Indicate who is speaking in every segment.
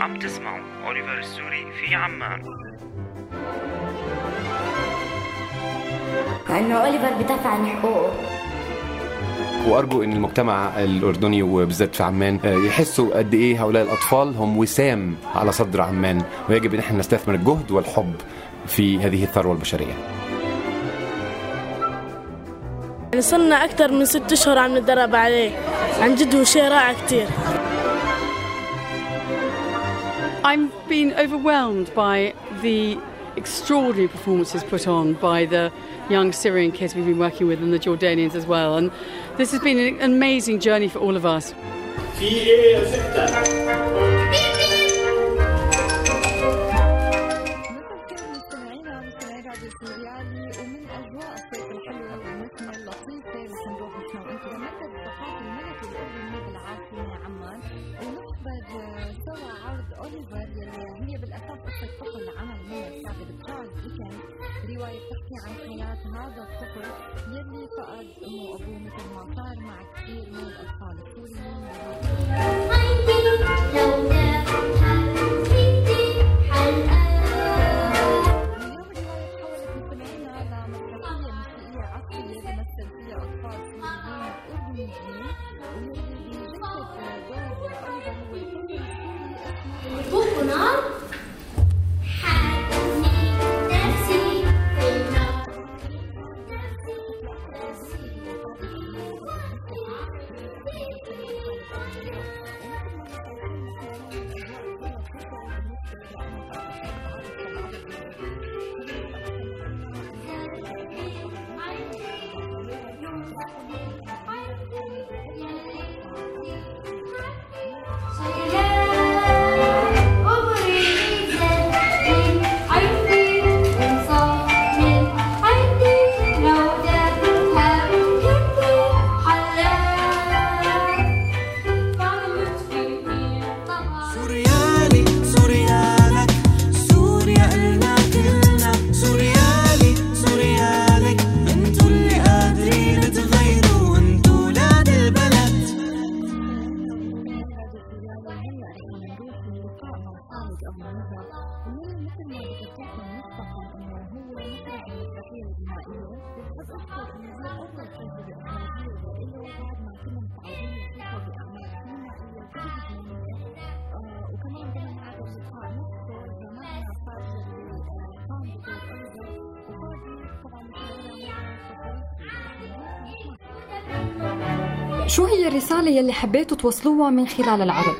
Speaker 1: عم تسمعوا أوليفر السوري في عمان.
Speaker 2: لأنه أوليفر بدافع عن حقوقه.
Speaker 3: وأرجو أن المجتمع الأردني وبالذات في عمان يحسوا قد إيه هؤلاء الأطفال هم وسام على صدر عمان، ويجب أن احنا نستثمر الجهد والحب في هذه الثروة البشرية.
Speaker 4: صرنا أكثر من 6 أشهر عم نتدرب عليه، عن جد هو شيء رائع كتير.
Speaker 5: I'm been overwhelmed by the extraordinary performances put on by the young Syrian kids we've been working with and the Jordanians as well, and this has been an amazing journey for all of us.
Speaker 6: هي بالأساس قصة طفل عمل من الكاتب تشارلز ديكنز، رواية تحكي عن حياة هذا الطفل يلي فقد أمه وأبوه مثل ما صار مع كثير من الأطفال السوريين. اليوم الرواية تحولت مستمعينا لمسرحية موسيقية عصرية بمثل فيها أطفال سوريين أردنيين، واللي بيجسد دور أوليفر هو الطفل السوري اسمه
Speaker 7: شو هي الرسالة يلي حبيتوا توصلوها من خلال العرض؟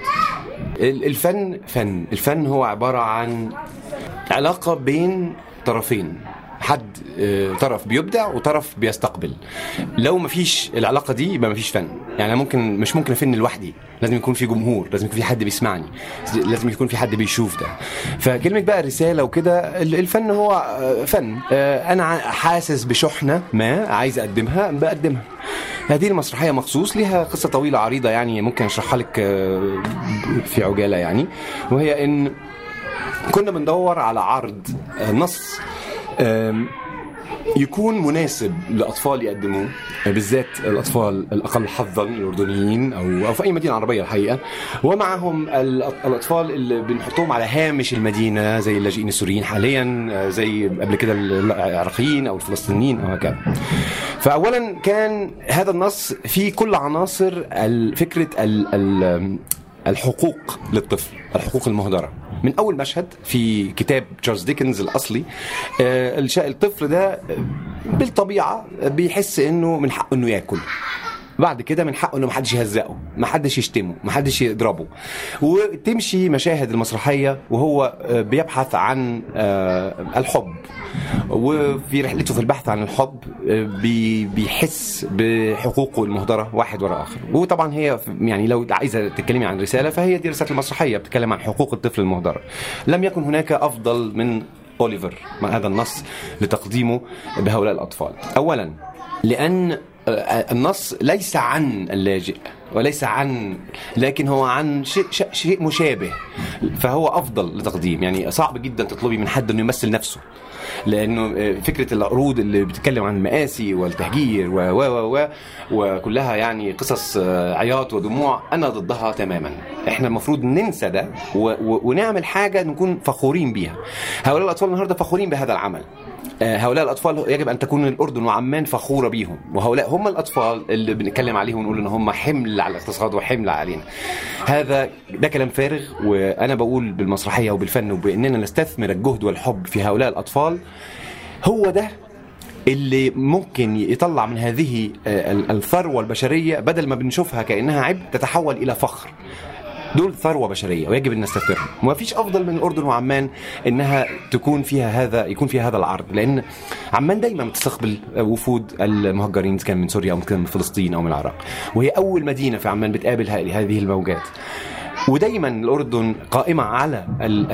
Speaker 3: الفن هو عبارة عن علاقة بين طرفين، حد طرف بيبدع وطرف بيستقبل. لو ما فيش العلاقة دي يبقى ما فيش فن. يعني مش ممكن أفن لوحدي، لازم يكون في جمهور، لازم يكون في حد بيسمعني، لازم يكون في حد بيشوف ده. فكلمة بقى رسالة وكده، الفن هو فن. أنا حاسس بشحنة ما عايز أقدمها بقدمها. هذه المسرحية مخصوص لها قصة طويلة عريضة، يعني ممكن أشرحها لك في عجالة يعني. وهي إن كنا بندور على عرض نص يكون مناسب لأطفال يقدموه، بالذات الأطفال الأقل حظاً الأردنيين أو في أي مدينة عربية الحقيقة، ومعهم الأطفال اللي بنحطهم على هامش المدينة زي اللاجئين السوريين حالياً، زي قبل كده العراقيين أو الفلسطينيين أو هكذا. فأولاً كان هذا النص فيه كل عناصر فكرة الحقوق للطفل، الحقوق المهدرة. من أول مشهد في كتاب تشارلز ديكنز الأصلي، الطفل ده بالطبيعة بيحس إنه من حقه إنه يأكل، بعد كده من حقه إنه محدش يهزقه، محدش يشتمه، محدش يضربه. وتمشي مشاهد المسرحية وهو بيبحث عن الحب، وفي رحلته في البحث عن الحب بيحس بحقوقه المهدرة واحد وراء آخر. وطبعا هي يعني لو عايزة تتكلمي عن رسالة فهي دي رسالة المسرحية، بتتكلم عن حقوق الطفل المهدرة. لم يكن هناك أفضل من أوليفر مع هذا النص لتقديمه بهؤلاء الأطفال. أولا لأن النص ليس عن اللاجئ وليس لكن هو عن شيء مشابه، فهو أفضل لتقديم. يعني صعب جدا تطلبي من حد أنه يمثل نفسه، لأنه فكرة العروض اللي بتتكلم عن المآسي والتهجير وكلها يعني قصص عياط ودموع، أنا ضدها تماما. احنا المفروض ننسى ده ونعمل حاجة نكون فخورين بيها. هؤلاء الأطفال النهاردة فخورين بهذا العمل. هؤلاء الأطفال يجب أن تكون الأردن وعمان فخورة بيهم، وهؤلاء هم الأطفال اللي بنتكلم عليهم ونقول إن هم حمل على الاقتصاد وحمل علينا. ده كلام فارغ. وأنا بقول بالمسرحية وبالفن وبأننا نستثمر الجهد والحب في هؤلاء الأطفال، هو ده اللي ممكن يطلع من هذه الثروة البشرية، بدل ما بنشوفها كأنها عبء تتحول إلى فخر. دول ثروة بشرية ويجب أن نستثمرهم. وما فيش أفضل من الأردن وعمان إنها يكون فيها هذا العرض، لأن عمان دايما بتستقبل وفود المهجرين كان من سوريا أو من فلسطين أو من العراق، وهي أول مدينة في عمان بتقابل هذه الموجات. ودايما الأردن قائمة على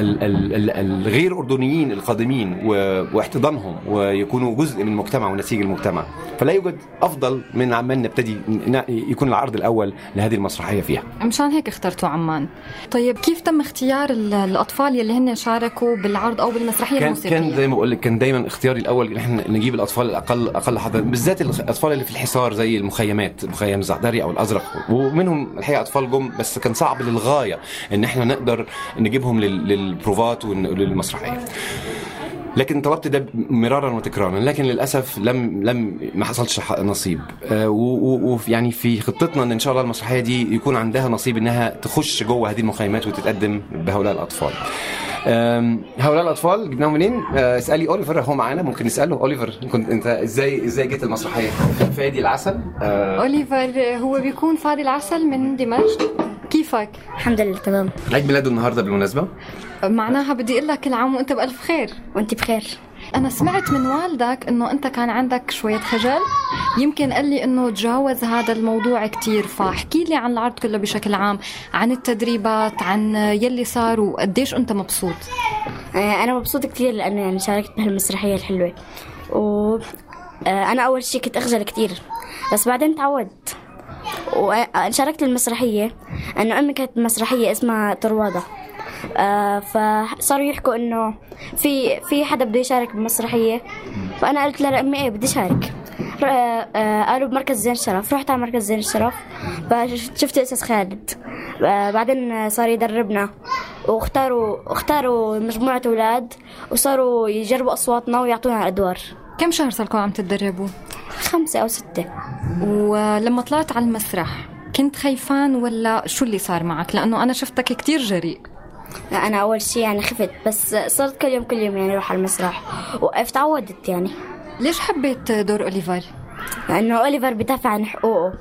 Speaker 3: الغير أردنيين القادمين واحتضانهم ويكونوا جزء من المجتمع ونسيج المجتمع. فلا يوجد أفضل من عمان نبتدي يكون العرض الأول لهذه المسرحية فيها.
Speaker 7: مشان هيك اخترتوا عمان. طيب كيف تم اختيار الأطفال يلي هن شاركوا بالعرض أو بالمسرحية الموسيقية؟
Speaker 3: كان زي ما بقول لك، كان دايما اختياري الأول إن احنا نجيب الأطفال الأقل حضارة، بالذات الأطفال اللي في الحصار زي المخيمات، مخيم الزعدري أو الأزرق، ومنهم الحقيقة أطفال جم، بس كان صعب للغاية ان احنا نقدر نجيبهم للبروفات وللمسرحيه. لكن طلبت ده مرارا وتكرارا، لكن للاسف ما حصلش نصيب. ويعني في خطتنا ان شاء الله المسرحيه دي يكون عندها نصيب انها تخش جوه هذه المخيمات وتتقدم بهؤلاء الاطفال. هؤلاء الاطفال جبناهم منين؟ اسالي اوليفر، هو معانا، ممكن نساله. اوليفر، كنت انت ازاي جيت المسرحيه؟ فادي العسل.
Speaker 7: اوليفر هو بيكون فادي العسل من دمشق. كيفك؟
Speaker 2: الحمد لله تمام.
Speaker 3: عيد ميلاده النهارده بالمناسبه.
Speaker 7: معناها بدي اقول لك كل عام وانت بالف خير.
Speaker 2: وانت بخير.
Speaker 7: انا سمعت من والدك انه انت كان عندك شويه خجل، يمكن قال لي انه تجاوز هذا الموضوع كتير، فاحكي لي عن العرض كله بشكل عام، عن التدريبات، عن يلي صار، وقديش انت مبسوط.
Speaker 2: انا مبسوط كتير لانه يعني شاركت بهالمسرحيه الحلوه، وانا اول شيء كنت اخجل كتير بس بعدين تعودت. وشاركت المسرحيه انه امي كانت مسرحيه اسمها طروادة، فصاروا يحكوا انه في حدا بده يشارك بالمسرحيه، فانا قلت لها امي ايه بدي شارك. قالوا بمركز زين الشرف، رحت على مركز زين الشرف فشفت استاذ خالد، بعدين صار يدربنا واختاروا مجموعه اولاد وصاروا يجربوا اصواتنا ويعطونا الادوار.
Speaker 7: كم شهر صاركم عم تتدربوا؟
Speaker 2: 5 أو 6.
Speaker 7: ولما طلعت على المسرح كنت خايفان ولا شو اللي صار معك؟ لأنه أنا شفتك كتير جريء.
Speaker 2: لا أنا أول شيء يعني خفت، بس صرت كل يوم يعني أروح على المسرح وقفت عودت يعني.
Speaker 7: ليش حبيت دور أوليفر؟
Speaker 2: لأنه أوليفر بيدافع عن حقوقه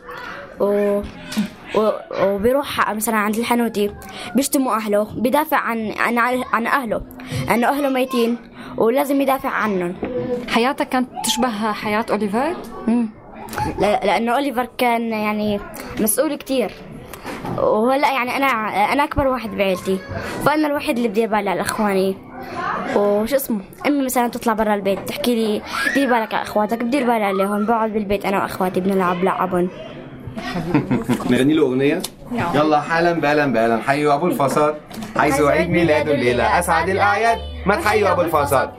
Speaker 2: وبيروح مثلا عند الحنوتي بيشتموا أهله، بيدافع عن أهله لأنه أهله ميتين ولازم يدافع عنهم.
Speaker 7: حياتك كانت تشبه حياة أوليفر؟
Speaker 2: لأنه أوليفر كان يعني مسؤول كتير، وهلا يعني أنا أكبر واحد بعيلتي، فأنا الوحيد اللي بدي بالي على إخواني. وش اسمه أمي مثلا تطلع برا البيت تحكي لي دير بالك على أخواتك، بدير بالي عليهم، بقعد بالبيت أنا وأخواتي بنلعب لعبهم.
Speaker 3: نغني له أغنية؟ يلا حالا بالا حيوا أبو الفصاد، حيث عيد ميلاده الليلة أسعد الأعياد، ما تحيوا أبو الفصاد.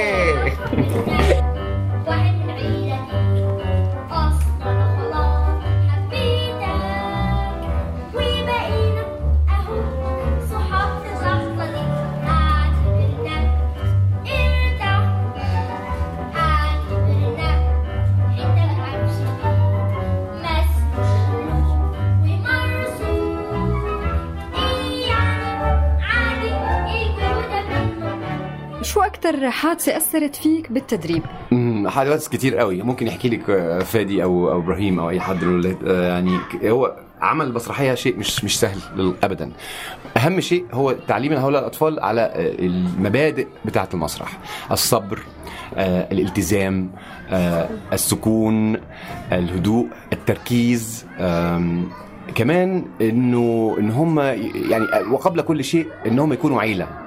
Speaker 7: شو أكتر حادثة أثرت فيك بالتدريب؟
Speaker 3: حادث كتير قوي، ممكن يحكي لك فادي أو إبراهيم أو أي حد. يعني هو عمل المسرحية شيء مش سهل أبدا. أهم شيء هو تعليم هؤلاء الأطفال على المبادئ بتاعة المسرح: الصبر، الالتزام، السكون، الهدوء، التركيز، كمان إن هم يعني وقبل كل شيء إنهم يكونوا عيلة.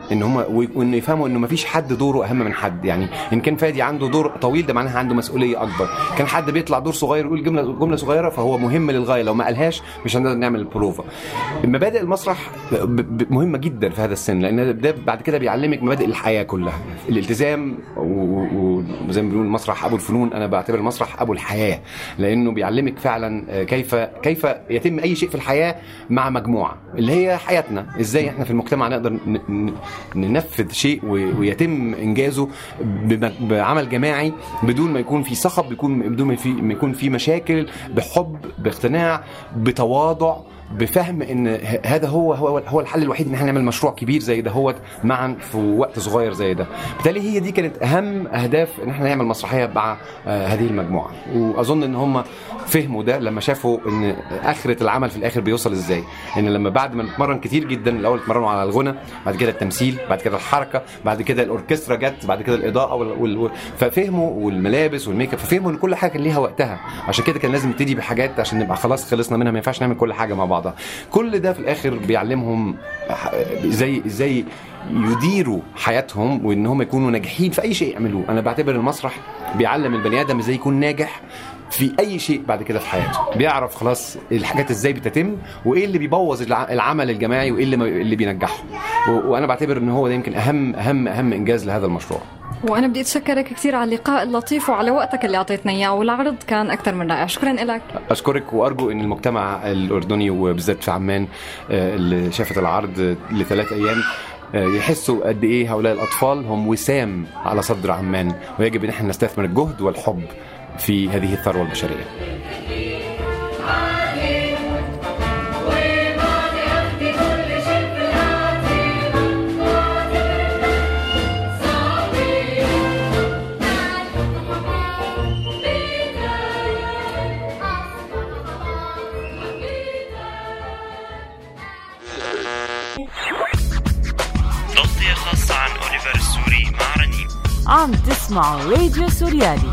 Speaker 3: ان هم وانه يفهموا انه ما فيش حد دوره اهم من حد. يعني ان كان فادي عنده دور طويل ده معناها عنده مسؤوليه اكبر. كان حد بيطلع دور صغير يقول جمله صغيره فهو مهم للغايه، لو ما قالهاش مش هنقدر نعمل البروفا. مبادئ المسرح مهمه جدا في هذا السن، لان ده بعد كده بيعلمك مبادئ الحياه كلها، الالتزام، وزي ما بيقولوا المسرح ابو الفنون، انا بعتبر المسرح ابو الحياه، لانه بيعلمك فعلا كيف يتم اي شيء في الحياه مع مجموعه اللي هي حياتنا، ازاي احنا في المجتمع نقدر ننفذ شيء ويتم انجازه بعمل جماعي بدون ما يكون في صخب، بدون ما يكون في مشاكل، بحب، باقتناع، بتواضع، بفهم ان هذا هو الحل الوحيد ان احنا نعمل مشروع كبير زي ده هو معا في وقت صغير زي ده. بالتالي هي دي كانت اهم اهداف ان احنا نعمل مسرحيه مع هذه المجموعه، واظن ان هم فهموا ده لما شافوا ان اخره العمل في الاخر بيوصل ازاي. ان لما بعد ما نتمرن كتير جدا، الاول اتمرنوا على الغنى، بعد كده التمثيل، بعد كده الحركه، بعد كده الاوركسترا جت، بعد كده الاضاءه ففهموا، والملابس والميك اب، ففهموا ان كل حاجه كان ليها وقتها. عشان كده كان لازم نبتدي بحاجات عشان نبقى خلاص خلصنا منها، ما ينفعش نعمل كل حاجه مع بعضها. كل ده في الاخر بيعلمهم ازاي يديروا حياتهم وان هم يكونوا ناجحين في اي شيء يعملوه. انا بعتبر المسرح بيعلم البني ادم ازاي يكون ناجح في اي شيء بعد كده في حياته، بيعرف خلاص الحاجات ازاي بتتم، وايه اللي بيبوظ العمل الجماعي، وايه اللي بينجحه. وانا بعتبر ان هو ده يمكن اهم انجاز لهذا المشروع.
Speaker 7: وانا بدي اتشكرك كثير على اللقاء اللطيف وعلى وقتك اللي اعطيتنا اياه، والعرض كان اكثر من رائع. شكرا لك.
Speaker 3: اشكرك، وارجو ان المجتمع الاردني وبالذات في عمان اللي شافت العرض ل3 ايام يحسوا قد ايه هؤلاء الاطفال هم وسام على صدر عمان، ويجب ان احنا نستثمر الجهد والحب في هذه الثروه البشريه.
Speaker 1: تغطية خاصة عن أوليفر السوري مع رنيم.
Speaker 8: عم تسمعوا راديو سوريالي.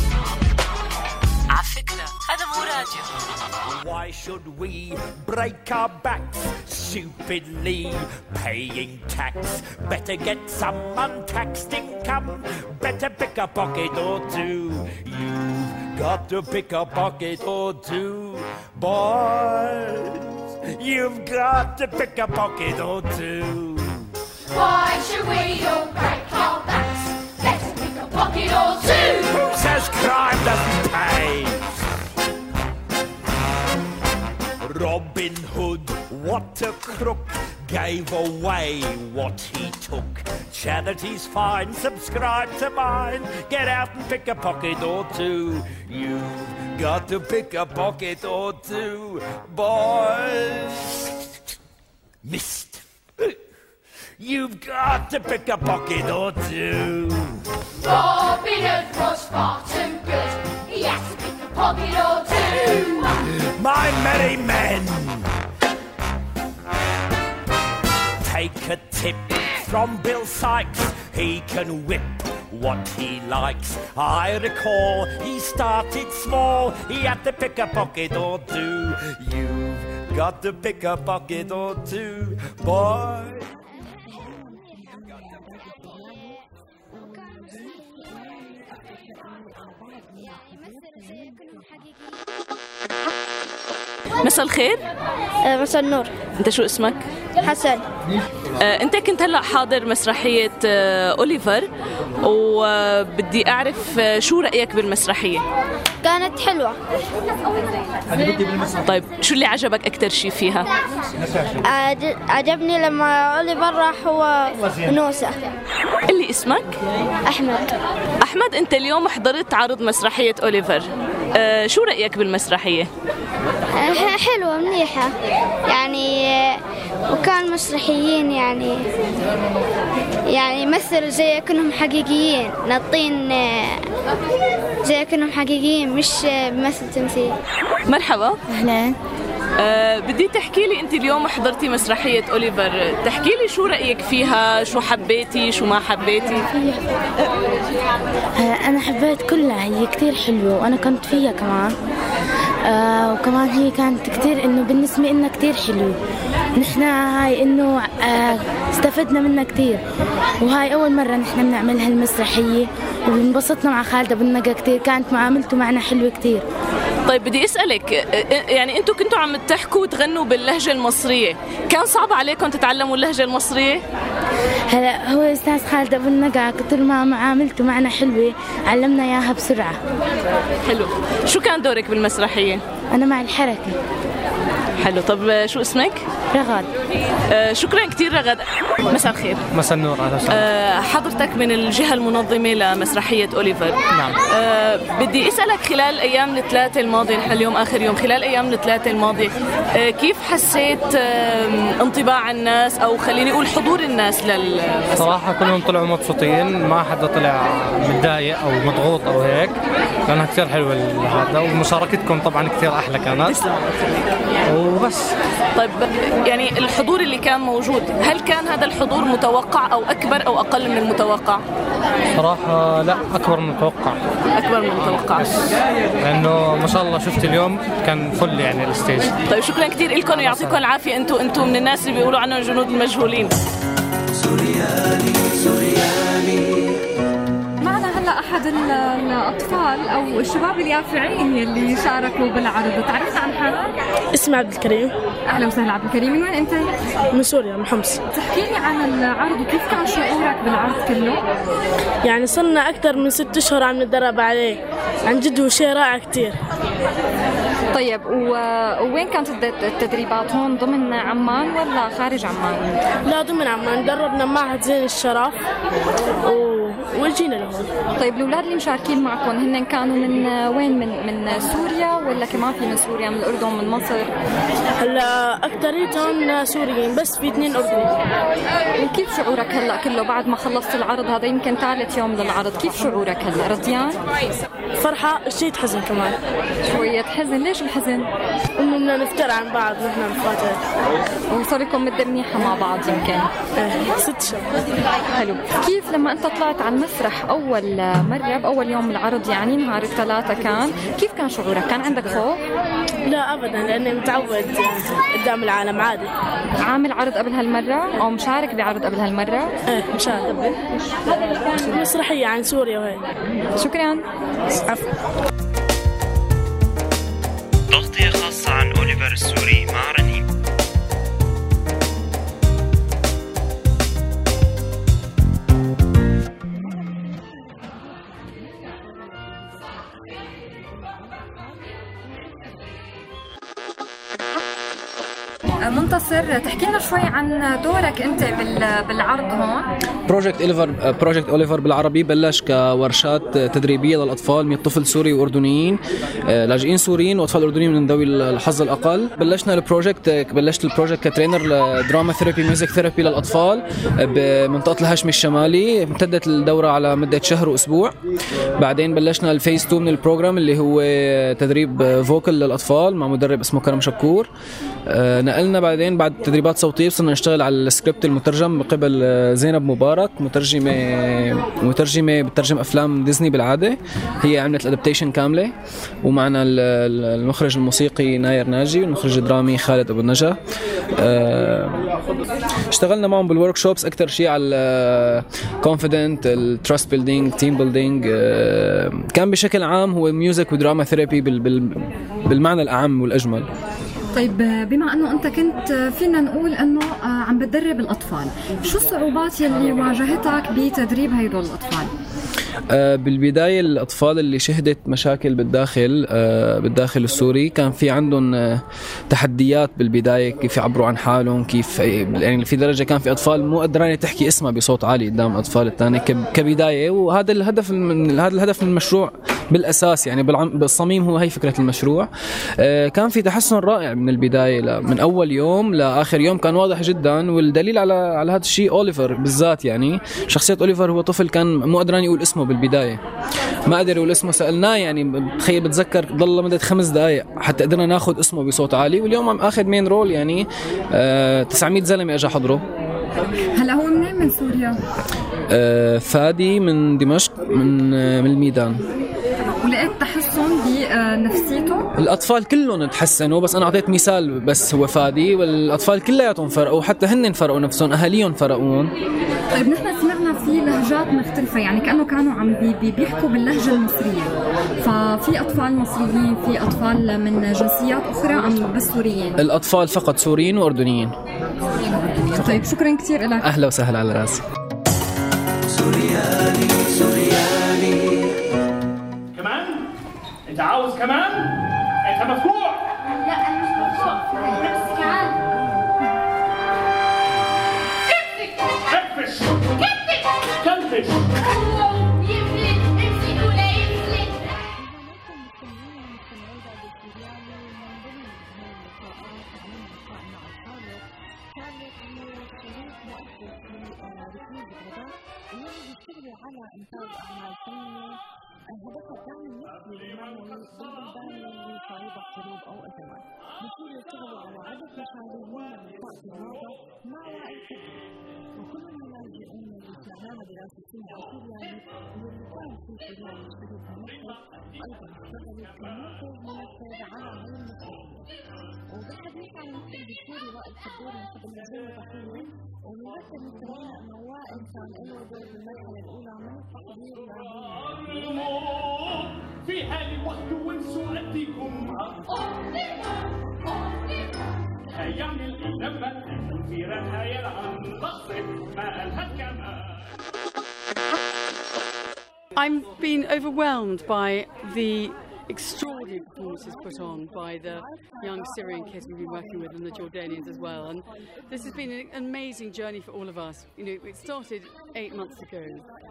Speaker 8: على فكرة هذا مو راديو.
Speaker 9: Why should we break our backs stupidly paying tax? Better get some untaxed income. Better pick a pocket or two. You've got to pick a pocket or two, boys. You've got to pick a pocket or two.
Speaker 10: Why should we all break our backs? Let's pick a pocket or two.
Speaker 9: Who says crime doesn't pay? Robin Hood, what a crook, gave away what he took. Charity's fine, subscribe to mine. Get out and pick a pocket or two. You've got to pick a pocket or two, boys. Missed. You've got to pick a pocket or two.
Speaker 10: Robin Hood was far too good. He had to pick a pocket or two.
Speaker 9: My merry men, take a tip from Bill Sykes. He can whip what he likes. I recall he started small. He had to pick a pocket or two. You've got to pick a pocket or two, boy.
Speaker 8: مساء الخير.
Speaker 2: مساء النور.
Speaker 8: انت شو اسمك؟
Speaker 2: حسن.
Speaker 8: انت كنت هلا حاضر مسرحية أوليفر، وبدي اعرف شو رأيك بالمسرحية؟
Speaker 2: كانت حلوة.
Speaker 8: طيب شو اللي عجبك اكثر شيء فيها؟
Speaker 2: عجبني لما أوليفر راح هو نوسة.
Speaker 8: اللي اسمك؟
Speaker 2: أحمد.
Speaker 8: أحمد، انت اليوم حضرت عرض مسرحية أوليفر، شو رأيك بالمسرحية؟
Speaker 2: حلوة منيحة يعني، وكان مسرحيين يعني مثل زي كأنهم حقيقيين، ناطين زي كأنهم حقيقيين، مش بمثل تمثيل.
Speaker 8: مرحبا.
Speaker 2: أهلا.
Speaker 8: بدي تحكي لي انت اليوم حضرتي مسرحية أوليفر، تحكي لي شو رأيك فيها، شو حبيتي شو ما حبيتي؟
Speaker 2: أنا حبيت كلها، هي كتير حلوة وأنا كنت فيها كمان. وكمان هي كانت كتير إنه بالنسبة لنا كتير حلوة. نحن هاي إنه استفدنا منها كتير، وهاي أول مرة نحن بنعمل هالمسرحية، وانبسطنا مع خالد أبو النجا كتير، كانت معاملته معنا حلوة كتير.
Speaker 8: طيب بدي أسألك، يعني أنتوا كنتوا عم تحكوا وتغنوا باللهجة المصرية، كان صعب عليكم تتعلموا اللهجة المصرية؟
Speaker 2: هلا هو أستاذ خالد أبو النجا كتر ما معاملته معنا حلوة، علمنا إياها بسرعة.
Speaker 8: حلو. شو كان دورك بالمسرحية؟
Speaker 2: أنا مع الحركة.
Speaker 8: حلو. طب شو اسمك؟
Speaker 2: رغد.
Speaker 8: شكرا كتير رغد. مساء الخير.
Speaker 11: مساء النور.
Speaker 8: حضرتك من الجهة المنظمة لمسرحية أوليفر.
Speaker 11: نعم.
Speaker 8: بدي أسألك خلال أيام الثلاثة الماضية، نحن اليوم آخر يوم، خلال أيام الثلاثة الماضية كيف حسيت انطباع الناس أو خليني أقول حضور الناس للمسرحية؟
Speaker 11: صراحة كلهم طلعوا مبسوطين، ما حدا طلع متضايق أو مضغوط أو هيك، كانت كثير حلوة هذا، ومشاركتكم طبعا كثير أحلى كانت. وبس.
Speaker 8: طيب يعني الحضور اللي كان موجود، هل كان هذا الحضور متوقع أو أكبر أو أقل من المتوقع؟
Speaker 11: صراحة لا، أكبر من المتوقع.
Speaker 8: أكبر من المتوقع.
Speaker 11: لأنه ما شاء الله شفت اليوم كان فل يعني الستيج.
Speaker 8: طيب شكرا كتير لكم ويعطيكم العافية. أنتم من الناس اللي بيقولوا عنهم جنود المجهولين.
Speaker 7: سوريالي. معنا هلا أحد الأطفال أو الشباب اليافعين يلي شاركوا بالعرض، تعرفت عن حالك؟
Speaker 4: اسمي عبد الكريم.
Speaker 7: أهلا وسهلا عبد الكريم، من وين أنت؟
Speaker 4: من سوريا، من حمص.
Speaker 7: تحكي لي عن العرض وكيف كان شعورك بالعرض كله؟
Speaker 4: يعني صرنا أكثر من 6 أشهر عم نتدرب عليه، عن جد هو شيء رائع كتير.
Speaker 7: طيب وين كانت التدريبات؟ هون ضمن عمان ولا خارج عمان؟
Speaker 4: لا ضمن عمان، دربنا معهد زين الشرف وجينا لهون.
Speaker 7: طيب الأولاد اللي مشاركين معكم هن كانوا من وين؟ من سوريا ولا كمان في من سوريا، من الأردن، من مصر؟
Speaker 4: هلا أكتريتهم سوريين، بس في 2 أردنيين.
Speaker 7: وكيف شعورك هلا كله بعد ما خلصت العرض؟ هذا يمكن ثالث يوم للعرض، كيف شعورك هلا؟ رضيان؟
Speaker 4: فرحة، شيء حزن كمان.
Speaker 7: شوية حزن، ليش الحزن؟
Speaker 4: إنه بدنا نفتر عن بعض نحن رفقاتنا.
Speaker 7: وصار لكم مدة منيحة مع بعض يمكن؟
Speaker 4: 6 شهور.
Speaker 7: حلو. كيف لما أنت طلعت على المسرح أول مرة بأول يوم العرض، يعني نهار الثلاثة كان، كيف كان شعورك؟ كان عندك خوف؟
Speaker 4: لا أبدا، لأني متعود قدام العالم عادي.
Speaker 7: عامل عرض قبل هالمرة أو مشارك بعرض قبل هالمرة؟
Speaker 4: إيه مشارك قبل مسرحية عن سوريا وهيك.
Speaker 7: شكرا.
Speaker 4: عفوا.
Speaker 1: تغطية خاصة عن أوليفر السوري مع رنين.
Speaker 7: منتصر، تحكي لنا شوي عن دورك انت بالعرض هون.
Speaker 12: بروجكت أوليفر بالعربي بلش كورشات تدريبيه للاطفال من طفل سوري واردنيين، لاجئين سوريين واطفال اردنيين من ذوي الحظ الاقل. بلشت البروجكت كترينر لدراما ثيرابي ميوزك ثيرابي للاطفال بمنطقه الهاشمي الشمالي. امتدت الدوره على مده شهر واسبوع. بعدين بلشنا الفيز 2 من البروجرام اللي هو تدريب فوكل للاطفال مع مدرب اسمه كرم شكور. نقلنا بعدين بعد تدريبات صوتيه صرنا نشتغل على السكريبت المترجم من قبل زينب مبارك، مترجمه بترجم افلام ديزني بالعاده. هي عملت الادابتيشن كامله. ومعنا المخرج الموسيقي ناير ناجي والمخرج الدرامي خالد ابو النجا. اشتغلنا معهم بالورك شوبس اكثر شيء على الكونفيدنت، التراست بيلدينج، تيم بيلدينج. كان بشكل عام هو ميوزك ودراما ثيرابي بالمعنى الاعم والاجمل.
Speaker 7: طيب بما انه انت كنت فينا نقول انه عم بتدرب الاطفال، شو الصعوبات يلي واجهتك بتدريب هيدول الاطفال؟
Speaker 12: بالبداية الأطفال اللي شهدت مشاكل بالداخل السوري كان في عندهم تحديات بالبداية، كيف يعبروا عن حالهم، كيف يعني في درجة كان في أطفال مو قدرانة تحكي اسمها بصوت عالي قدام الأطفال الثانية كبداية. وهذا الهدف من المشروع بالأساس، يعني بالصميم هو هي فكرة المشروع. كان في تحسن رائع من البداية من أول يوم لآخر يوم، كان واضح جدا. والدليل على هذا الشيء أوليفر بالذات. يعني شخصية أوليفر هو طفل كان مو قدران يقول اسمه بالبداية، ما قدر يقول اسمه. سألناه يعني تخيل، بتذكر ضل مدة 5 دقائق حتى قدرنا ناخذ اسمه بصوت عالي. واليوم عم اخذ مين رول، يعني 900 زلمة اجى حضره.
Speaker 7: هلا هو منين من سوريا؟
Speaker 12: فادي من دمشق، من الميدان.
Speaker 7: ولقيت تحسن بنفسيته؟
Speaker 12: الأطفال كلهم تحسنوا، بس أنا أعطيت مثال بس هو فادي، والأطفال كلياتهم فرقوا، حتى هن فرقوا نفسهم، أهاليهم فرقون.
Speaker 7: طيب نحن سمعنا في لهجات مختلفة، يعني كأنه كانوا عم بيحكوا باللهجة المصرية، ففي أطفال مصريين، في أطفال من جنسيات أخرى أم بس سوريين؟
Speaker 12: الأطفال فقط سوريين وأردنيين.
Speaker 7: طيب شكرا كتير لك.
Speaker 12: أهلا وسهلا على راسي.
Speaker 13: سوريالي سوريالي
Speaker 9: كمان؟ انت عاوز كمان؟ انت مفجوع؟
Speaker 10: لا انا مش مفجوع، نفسي كمان.
Speaker 9: كفش كفش
Speaker 6: على إنتاج أعمال فنية هدفها دعم النفسي والمعنوي بالبلدان اللي صعيبة حروب أو أزمات. بصيروا يشتغلوا على عدة مشاريع من نطاق الرياضة مع وعي وكلهم لاجئين لبرنامج دراسي سوريالي واللي كان في سوريالي شريك مصر أيضا اشتغلوا كمنتج منفذ على هاي المسؤولية. وبالحديث عن المنتج السوري وائل خبور نحب نوجه تحية ونذكر مستمعينا أنه وائل كان له دور بالمرحلة الأولى من التحضير
Speaker 9: في حال وقت وانسوا أديكم هيعمل إيه لما في رهاية عن لحظة ما قالها كمان.
Speaker 5: I'm being overwhelmed by the extraordinary performances put on by the young Syrian kids we've been working with and the Jordanians as well, and this has been an amazing journey for all of us. You know, it started 8 months ago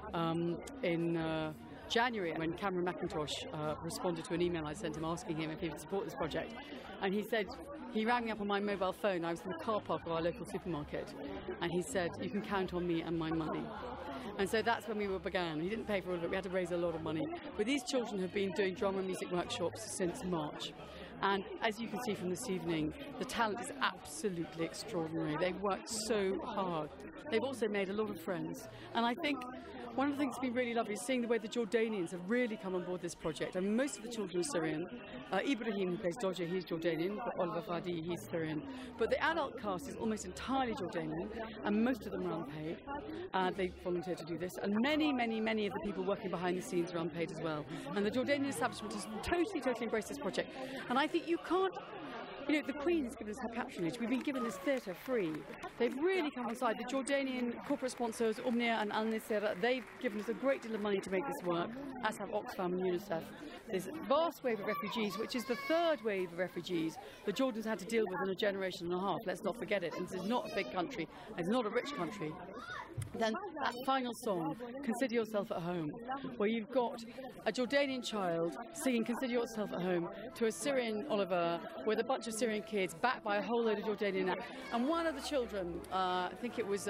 Speaker 5: in January when Cameron McIntosh responded to an email I sent him asking him if he would support this project, and he said he rang me up on my mobile phone. I was in the car park of our local supermarket, and he said, "You can count on me and my money." And so that's when we began. He didn't pay for all of it. We had to raise a lot of money. But these children have been doing drama and music workshops since March. And as you can see from this evening, the talent is absolutely extraordinary. They've worked so hard. They've also made a lot of friends. And I think one of the things that's been really lovely is seeing the way the Jordanians have really come on board this project. I mean, most of the children are Syrian. Ibrahim, who plays Dodger, he's Jordanian, but Oliver Fadi, he's Syrian. But the adult cast is almost entirely Jordanian, and most of them are unpaid. They volunteered to do this, and many of the people working behind the scenes are unpaid as well. And the Jordanian establishment has totally embraced this project. And I think you can't. You know, the Queen has given us her patronage. We've been given this theatre free. They've really come on side. The Jordanian corporate sponsors, Omnia and Al Nisera, they've given us a great deal of money to make this work, as have Oxfam and UNICEF. There's a vast wave of refugees, which is the third wave of refugees the Jordans had to deal with in a generation and a half. Let's not forget it. And this is not a big country. It's not a rich country. Then that final song, Consider Yourself at Home, where you've got a Jordanian child singing Consider Yourself at Home to a Syrian Oliver with a bunch of Syrian kids backed by a whole load of Jordanian. And one of the children, I think it's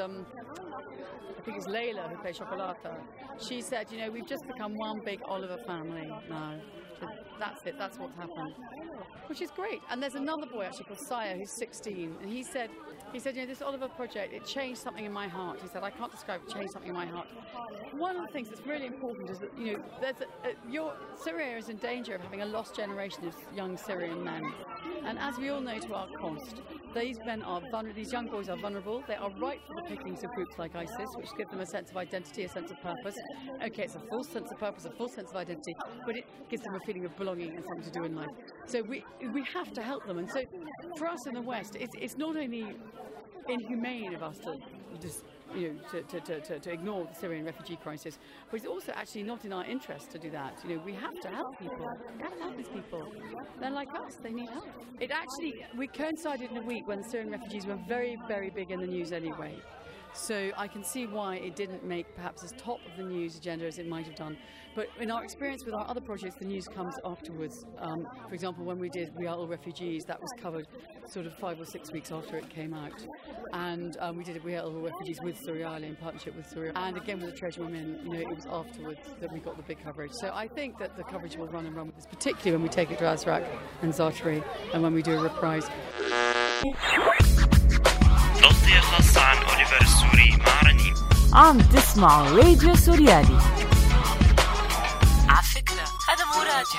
Speaker 5: Layla who plays Chocolata, she said, you know, we've just become one big Oliver family now. That's it, that's what's happened. Which is great. And there's another boy actually called Saya who's 16, and he said, you know, this Oliver project, it changed something in my heart. He said, I can't describe it, changed something in my heart. One of the things that's really important is that, you know, Syria is in danger of having a lost generation of young Syrian men. And as we all know to our cost, these men are vulnerable, these young boys are vulnerable. They are ripe for the pickings of groups like ISIS, which give them a sense of identity, a sense of purpose. Okay, it's a false sense of purpose, a false sense of identity, but it gives them a feeling of belonging and something to do in life. So we have to help them. And so for us in the West, it's not only inhumane of us to just, you know, to ignore the Syrian refugee crisis, but it's also actually not in our interest to do that. You know, we have to help people. We have to help these people. They're like us. They need help. We coincided in a week when the Syrian refugees were very big in the news anyway. So I can see why it didn't make perhaps as top of the news agenda as it might have done. But in our experience with our other projects, the news comes afterwards. For example, when we did We Are All Refugees, that was covered sort of 5 or 6 weeks after it came out. And we did We Are All Refugees with Suriali in partnership with Suriali. And again with the Treasure Women, you know, it was afterwards that we got the big coverage. So I think that the coverage will run with this, particularly when we take it to Azraq and Zaatari and when we do a reprise.
Speaker 1: تغطية خاصة عن أوليفر السوري مع رنيم.
Speaker 14: عم تسمعوا راديو سوريالي. على فكرة هذا مو راديو،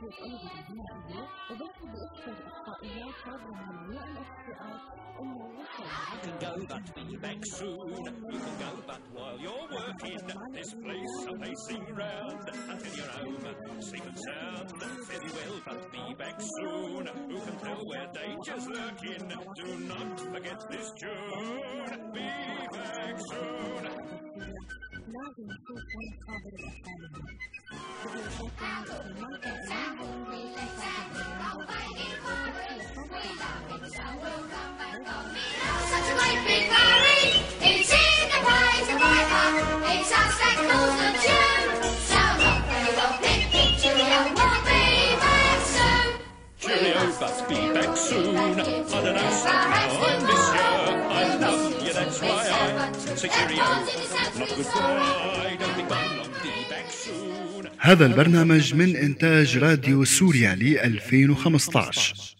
Speaker 9: Be back soon. You can go, but while you're working, this place some pacing round until you're home, safe and sound. Very well, but be back soon. Who can tell where danger's lurking? Do not forget this tune. Be back soon.
Speaker 10: Such a great big marriage, it's in the prize of Viper, it's us that calls the tune. So not very well picked, cheerio, we'll be back soon.
Speaker 9: Cheerio, but be back soon. I don't know, somehow I miss you. I love you, that's why I say cheerio, not goodbye. Don't be gone long, be back soon.
Speaker 14: هذا البرنامج من إنتاج راديو سوريا ل 2015.